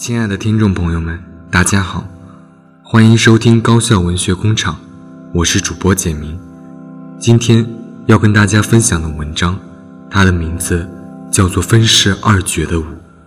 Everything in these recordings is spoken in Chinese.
亲爱的听众朋友们，大家好，欢迎收听高校文学工厂，我是主播简明。今天要跟大家分享的文章，它的名字叫做《分饰二绝的舞》。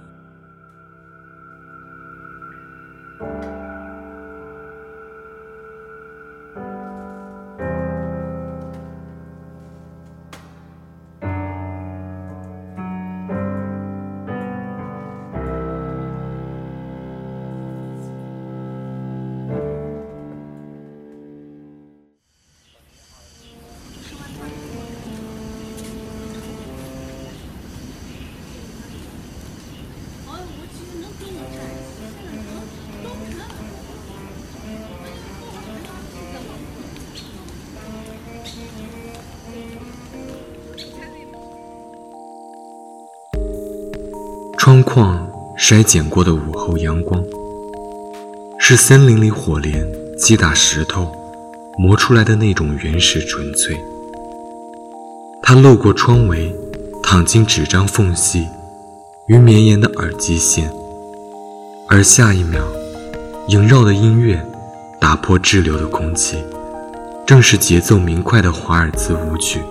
窗框筛减过的午后阳光，是森林里火镰击打石头磨出来的那种原始纯粹。它漏过窗围，躺进纸张缝隙与绵延的耳机线，而下一秒萦绕的音乐打破滞留的空气，正是节奏明快的华尔兹舞曲。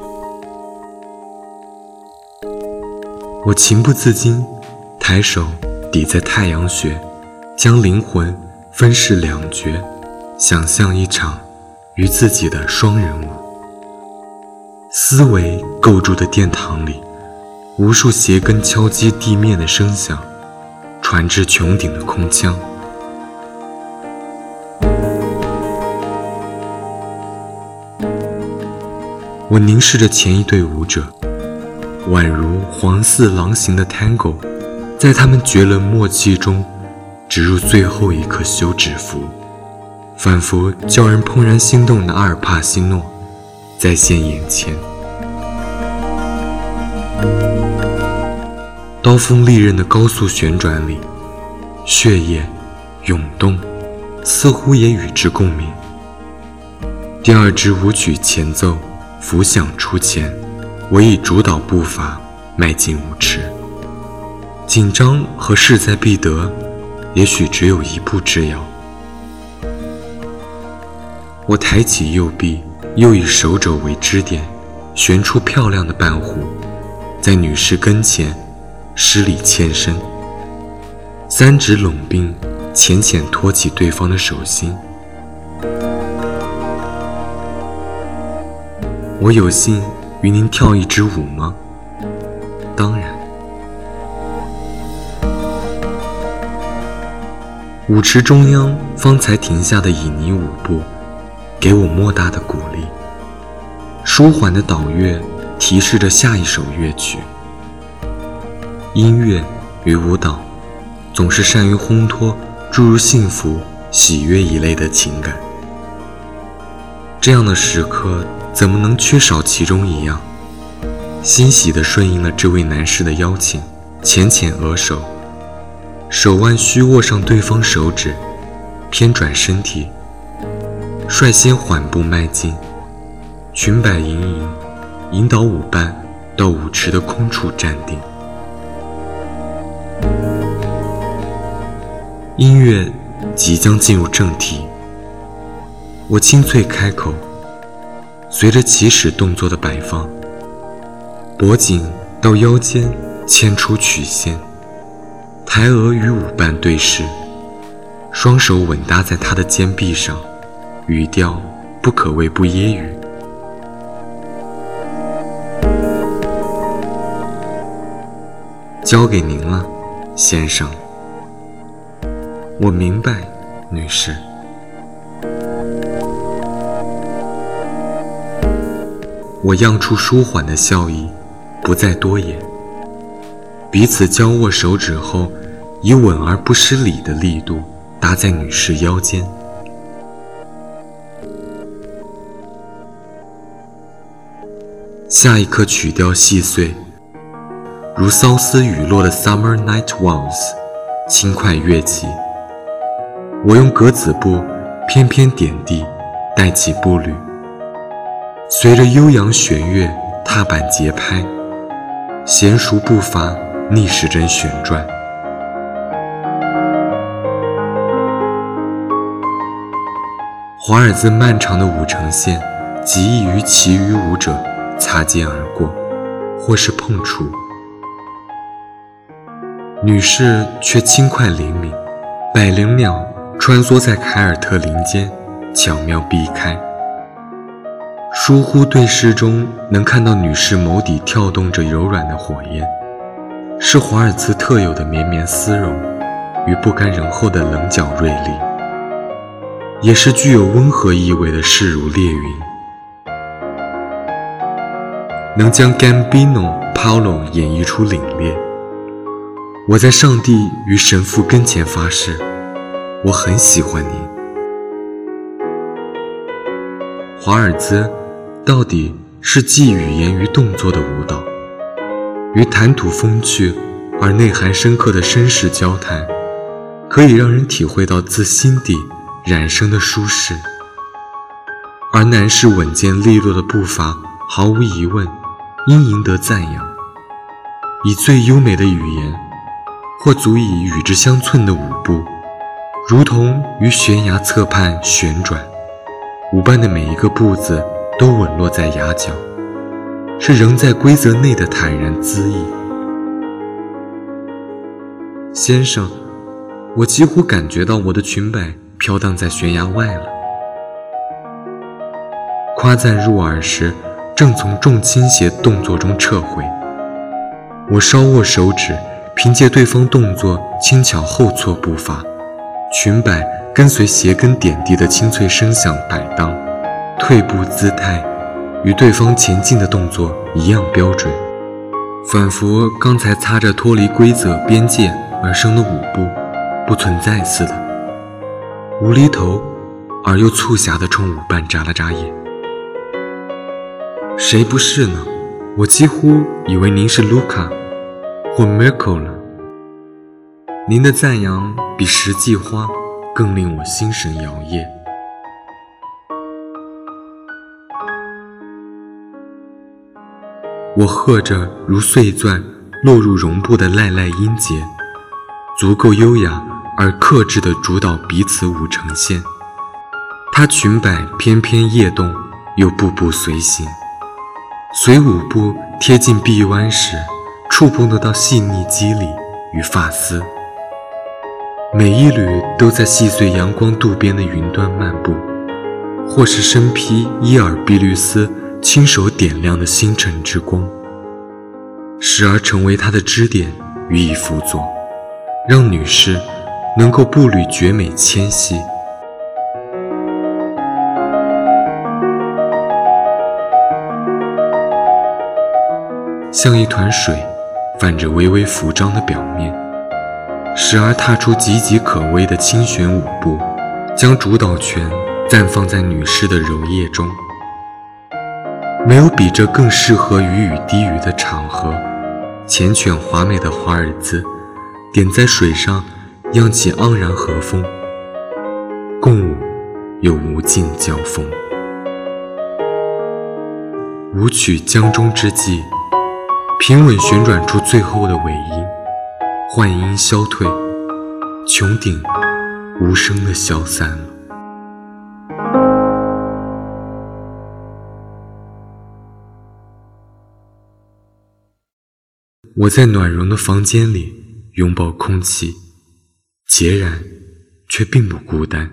我情不自禁抬手抵在太阳穴，将灵魂分饰两角，想象一场与自己的双人舞。思维构筑的殿堂里，无数鞋跟敲击地面的声响传至穹顶的空腔。我凝视着前一对舞者，宛如黄似狼行的 Tango，在他们绝伦默契中植入最后一颗休止符，仿佛叫人怦然心动的阿尔帕西诺再现眼前。刀锋利刃的高速旋转里，血液涌动，似乎也与之共鸣。第二支舞曲前奏拂响出前，我以主导步伐迈进舞池。紧张和势在必得，也许只有一步之遥。我抬起右臂，又以手肘为支点，旋出漂亮的半弧，在女士跟前施礼欠身，三指拢并，浅浅托起对方的手心。我有幸与您跳一支舞吗？当然。舞池中央方才停下的旖旎舞步，给我莫大的鼓励。舒缓的导乐提示着下一首乐曲。音乐与舞蹈总是善于烘托诸如幸福、喜悦一类的情感。这样的时刻怎么能缺少其中一样？欣喜地顺应了这位男士的邀请，浅浅额手，手腕虚握上对方手指，偏转身体，率先缓步迈进，裙摆盈盈，引导舞伴到舞池的空处站定。音乐即将进入正题，我清脆开口，随着起始动作的摆放，脖颈到腰间牵出曲线，抬额与舞伴对视，双手稳搭在他的肩臂上，语调不可谓不揶揄。交给您了，先生。我明白，女士。我漾出舒缓的笑意，不再多言。彼此交握手指后，以稳而不失礼的力度搭在女士腰间。下一刻曲调细碎，如骚丝雨落的 Summer Night Waltz， 轻快跃起。我用格子步翩翩点地，带起步履，随着悠扬弦乐踏板节拍，娴熟步伐逆时针旋转。 华尔兹漫长的舞程线极易与其余舞者擦肩而过，或是碰触。女士却轻快灵敏，百灵鸟穿梭在凯尔特林间，巧妙避开。疏忽对视中能看到女士眸底跳动着柔软的火焰，是华尔兹特有的绵绵丝绒与不甘人后的棱角锐利，也是具有温和意味的势如烈云，能将 Gambino、Paolo 演绎出凛冽。我在上帝与神父跟前发誓，我很喜欢您。华尔兹到底是既语言与动作的舞蹈，与谈吐风趣而内涵深刻的绅士交谈，可以让人体会到自心底染生的舒适，而男士稳健利落的步伐毫无疑问应赢得赞扬。以最优美的语言或足以与之相称的舞步，如同于悬崖侧畔旋转，舞伴的每一个步子都稳落在崖角，是仍在规则内的坦然恣意。先生，我几乎感觉到我的裙摆飘荡在悬崖外了。夸赞入耳时，正从重倾斜动作中撤回，我稍握手指，凭借对方动作轻巧后错步伐，裙摆跟随鞋跟点地的清脆声响摆荡，退步姿态与对方前进的动作一样标准，仿佛刚才擦着脱离规则边界而生的舞步不存在似的。无厘头而又促狭地冲舞伴眨了眨眼。谁不是呢？我几乎以为您是卢卡或 Mirko 了。您的赞扬比实际花更令我心神摇曳。我和着如碎钻落入绒布的赖赖音节，足够优雅而克制地主导彼此舞程线。她裙摆翩翩曳动，又步步随行，随舞步贴近臂弯时，触碰得到细腻肌理与发丝，每一缕都在细碎阳光渡边的云端漫步，或是身披伊尔碧绿丝亲手点亮的星辰之光，时而成为她的支点予以辅佐，让女士能够步履绝美纤细。像一团水泛着微微浮张的表面，时而踏出岌岌可危的轻旋舞步，将主导权暂放在女士的柔腋中。没有比这更适合于雨低语的场合，缱绻华美的华尔兹点在水上漾起盎然和风，共舞又无尽交锋。舞曲将终之际，平稳旋转出最后的尾音，幻音消退，穹顶无声地消散了。我在暖融的房间里拥抱空气，孑然却并不孤单。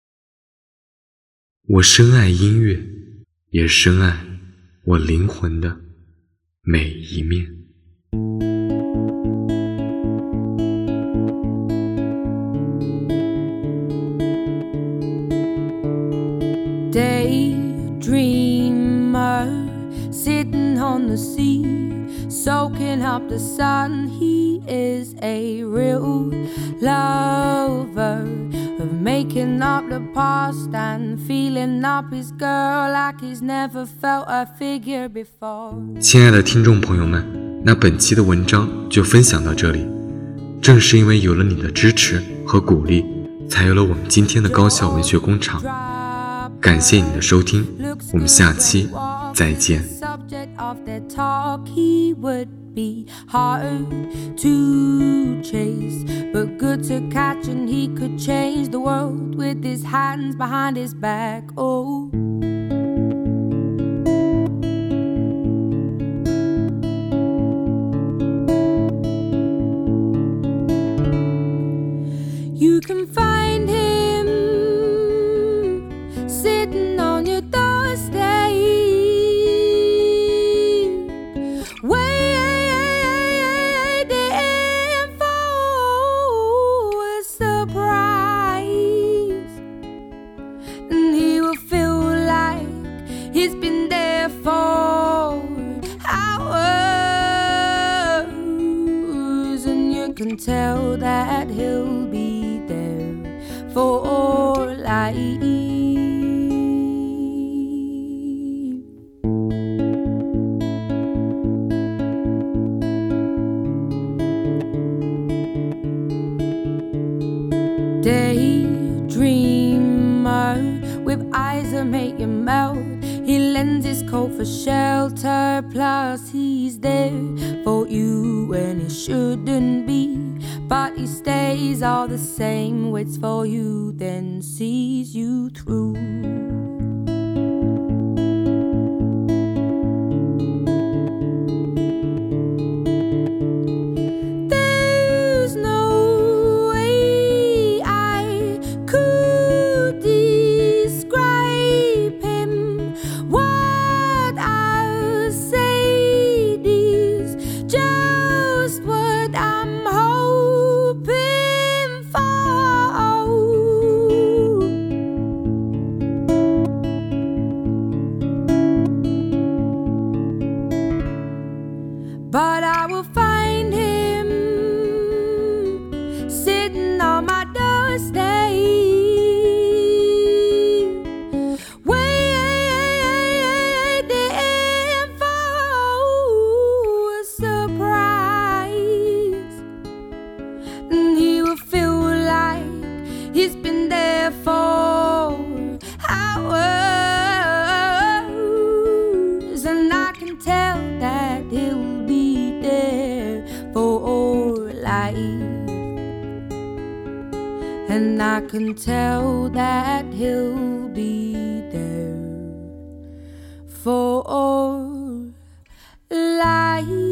我深爱音乐，也深爱我灵魂的每一面。 Daydreamer sitting on the sea, soaking up the sun. He is a real lover of making up the past and feeling up his girl like he's never felt a figure before. 亲爱的听众朋友们，那本期的文章就分享到这里。正是因为有了你的支持和鼓励，才有了我们今天的高校文学工厂。感谢你的收听，我们下期再见。 be hard to chase, but good to catch, and he could change the world with his hands behind his back. Oh, you can find him sitting on your doorstep, waiting for a surprise. And he will feel like he's been there for hours, and you can tell that he'll be there for life. Daydreamer with eyes that make you melt. He lends his coat for shelter, plus he's there for you when he shouldn't be. But he stays all the same, waits for you, then sees you through. There's no way I could describe him. What I'll say is just what I'm hoping for. But I will find him sitting on my doorstep, waiting for a surprise. And he will feel like he's been there for hours, and I can tell that he'll be there for life. And I can tell that he'll be there for life.